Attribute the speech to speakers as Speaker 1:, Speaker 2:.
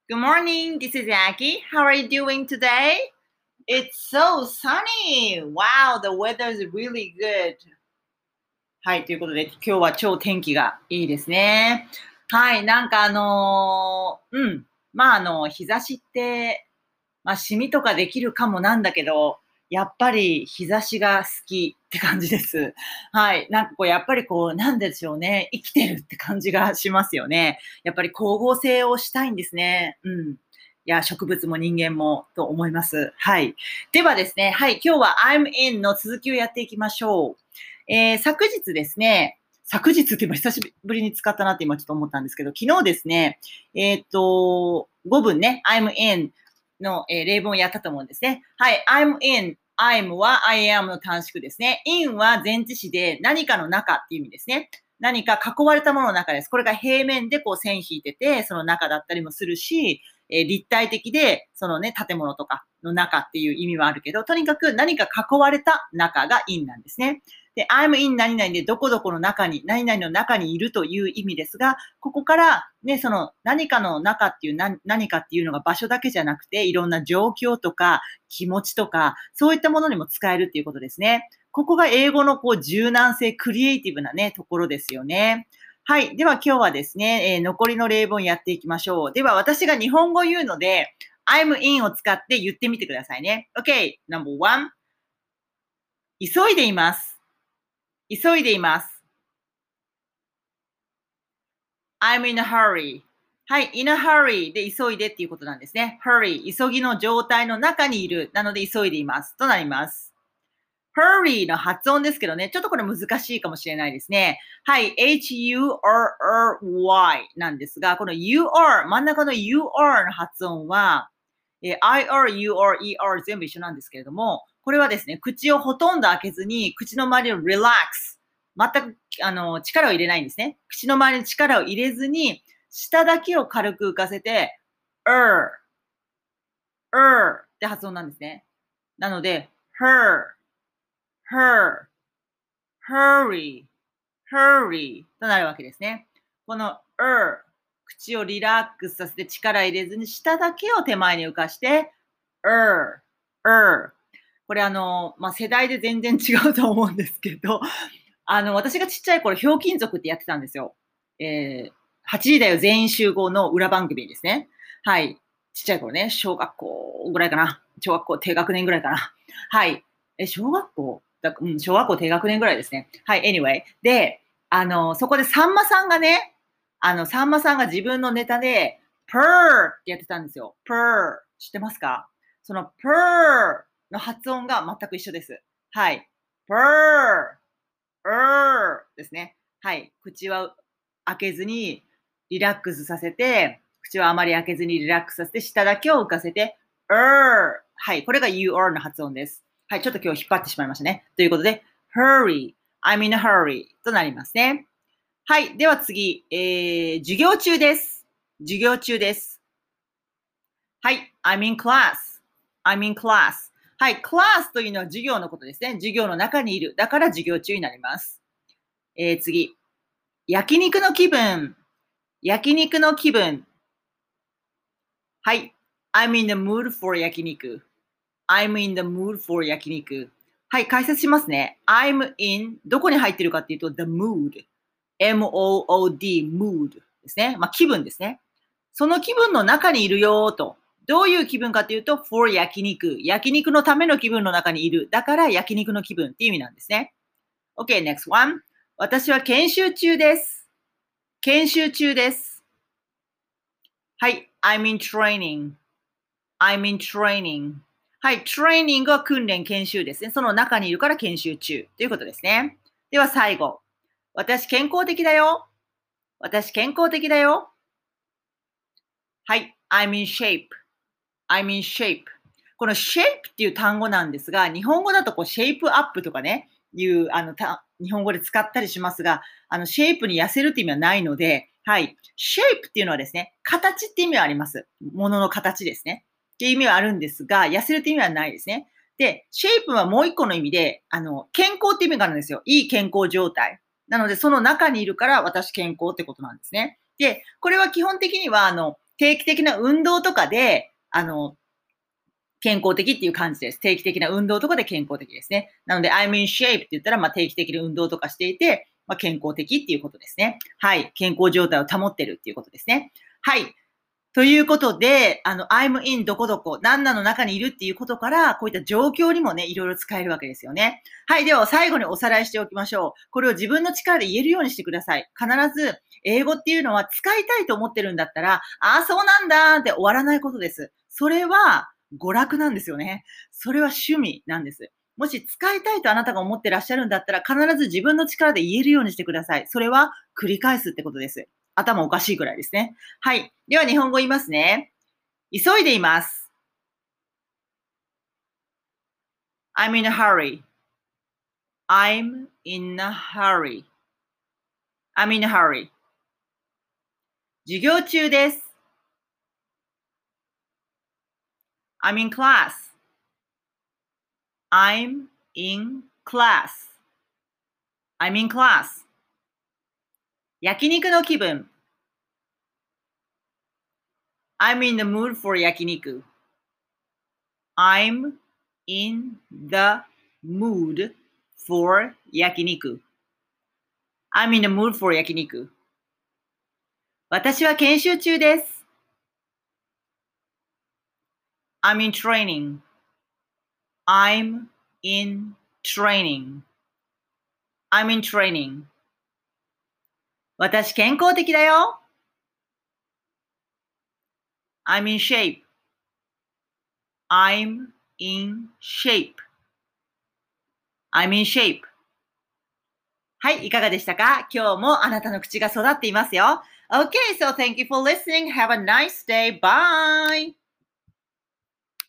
Speaker 1: Good morning, this is Aki. How are you doing today? It's so sunny. Wow, the weather is really good. はい、ということで、今日は超天気がいいですね。はい、日差しって、シミとかできるかもなんだけど、やっぱり日差しが好きって感じです。はい。やっぱりなんでしょうね。生きてるって感じがしますよね。やっぱり光合成をしたいんですね。うん。いや、植物も人間もと思います。はい。ではですね、はい。今日は I'm in の続きをやっていきましょう。昨日ですね、昨日って今久しぶりに使ったなって今ちょっと思ったんですけど、昨日ですね、5文ね、I'm in の、例文をやったと思うんですね。はい、I'm in。I'm は I am の短縮ですね。in は前置詞で何かの中っていう意味ですね。何か囲われたものの中です。これが平面で線引いてて、その中だったりもするし、立体的で、そのね、建物とかの中っていう意味はあるけど、とにかく何か囲われた中が in なんですね。で、I'm in 何々でどこどこの中に、何々の中にいるという意味ですが、ここからね、その何かの中っていう何かっていうのが場所だけじゃなくて、いろんな状況とか気持ちとか、そういったものにも使えるっていうことですね。ここが英語の柔軟性、クリエイティブなね、ところですよね。はい。では今日はですね、残りの例文やっていきましょう。では私が日本語言うので、I'm in を使って言ってみてくださいね。OK, number one. 急いでいます。急いでいます。I'm in a hurry. はい、in a hurry で急いでっていうことなんですね。hurry、急ぎの状態の中にいる。なので急いでいます。となります。hurry の発音ですけどね、ちょっとこれ難しいかもしれないですね。はい、h-u-r-r-y なんですが、この u-r、真ん中の u-r の発音は、i-r-u-r-e-r 全部一緒なんですけれども、これはですね、口をほとんど開けずに、口の周りを relax、全く力を入れないんですね。口の周りに力を入れずに、舌だけを軽く浮かせて、って発音なんですね。なので、hurry となるわけですね。この口をリラックスさせて力入れずに舌だけを手前に浮かして、これ世代で全然違うと思うんですけど、私がちっちゃい頃、ひょうきん族ってやってたんですよ。8時だよ全員集合の裏番組ですね。はい。ちっちゃい頃ね、小学校ぐらいかな。小学校低学年ぐらいかな。はい。小学校小学校低学年ぐらいですね。はい、anyway。で、そこでさんまさんがね、さんまさんが自分のネタで、プーってやってたんですよ。プー。知ってますか？そのプーの発音が全く一緒です。はい。プーですね。はい。口は開けずにリラックスさせて、口はあまり開けずにリラックスさせて、舌だけを浮かせて、はい。これが you are の発音です。はい。ちょっと今日引っ張ってしまいましたね。ということで、hurry, I'm in a hurry となりますね。はい。では次、授業中です。授業中です。はい。I'm in class. I'm in class. はい。クラスというのは授業のことですね。授業の中にいる。だから授業中になります。次。焼肉の気分。焼肉の気分。はい。I'm in the mood for 焼肉。I'm in the mood for 焼肉。はい。解説しますね。I'm in どこに入ってるかっていうと the mood。M-O-O-D mood ですね。気分ですね。その気分の中にいるよと。どういう気分かというと for 焼肉。焼肉のための気分の中にいる。だから焼肉の気分っていう意味なんですね。OK, next one. 私は研修中です。研修中です。はい。I'm in training. I'm in training. はい。training は訓練、研修ですね。その中にいるから研修中ということですね。では最後。私健康的だよ。私健康的だよ。はい。I'm in shape. I'm in shape. この shape っていう単語なんですが、日本語だとシェイプアップとかね、いう日本語で使ったりしますが、シェイプに痩せるって意味はないので、はい。シェイプっていうのはですね、形って意味はあります。ものの形ですね。っていう意味はあるんですが、痩せるって意味はないですね。で、シェイプはもう一個の意味で、健康って意味があるんですよ。いい健康状態。なので、その中にいるから私健康ってことなんですね。で、これは基本的には、 定期的な運動とかで、健康的っていう感じです。定期的な運動とかで健康的ですね。なので、I'm in shape って言ったら、定期的に運動とかしていて、健康的っていうことですね。はい。健康状態を保ってるっていうことですね。はい。ということで、I'm in どこどこ、何々の中にいるっていうことから、こういった状況にもね、いろいろ使えるわけですよね。はい。では、最後におさらいしておきましょう。これを自分の力で言えるようにしてください。必ず、英語っていうのは使いたいと思ってるんだったら、ああ、そうなんだって終わらないことです。それは、娯楽なんですよね。それは趣味なんです。もし使いたいとあなたが思ってらっしゃるんだったら、必ず自分の力で言えるようにしてください。それは繰り返すってことです。頭おかしいくらいですね。はい。では日本語言いますね。急いでいます。I'm in a hurry. I'm in a hurry. I'm in a hurry. 授業中です。I'm in class. I'm in class. I'm in class. 焼肉の気分。I'm in the mood for 焼肉。I'm in the mood for 焼肉。I'm in the mood for 焼肉。私は研修中です。I'm in training. I'm in training. I'm in training. 私健康的だよ。I'm in shape. I'm in shape. I'm in shape. はい、いかがでしたか？今日もあなたの口が育っていますよ。Okay, so thank you for listening. Have a nice day. Bye!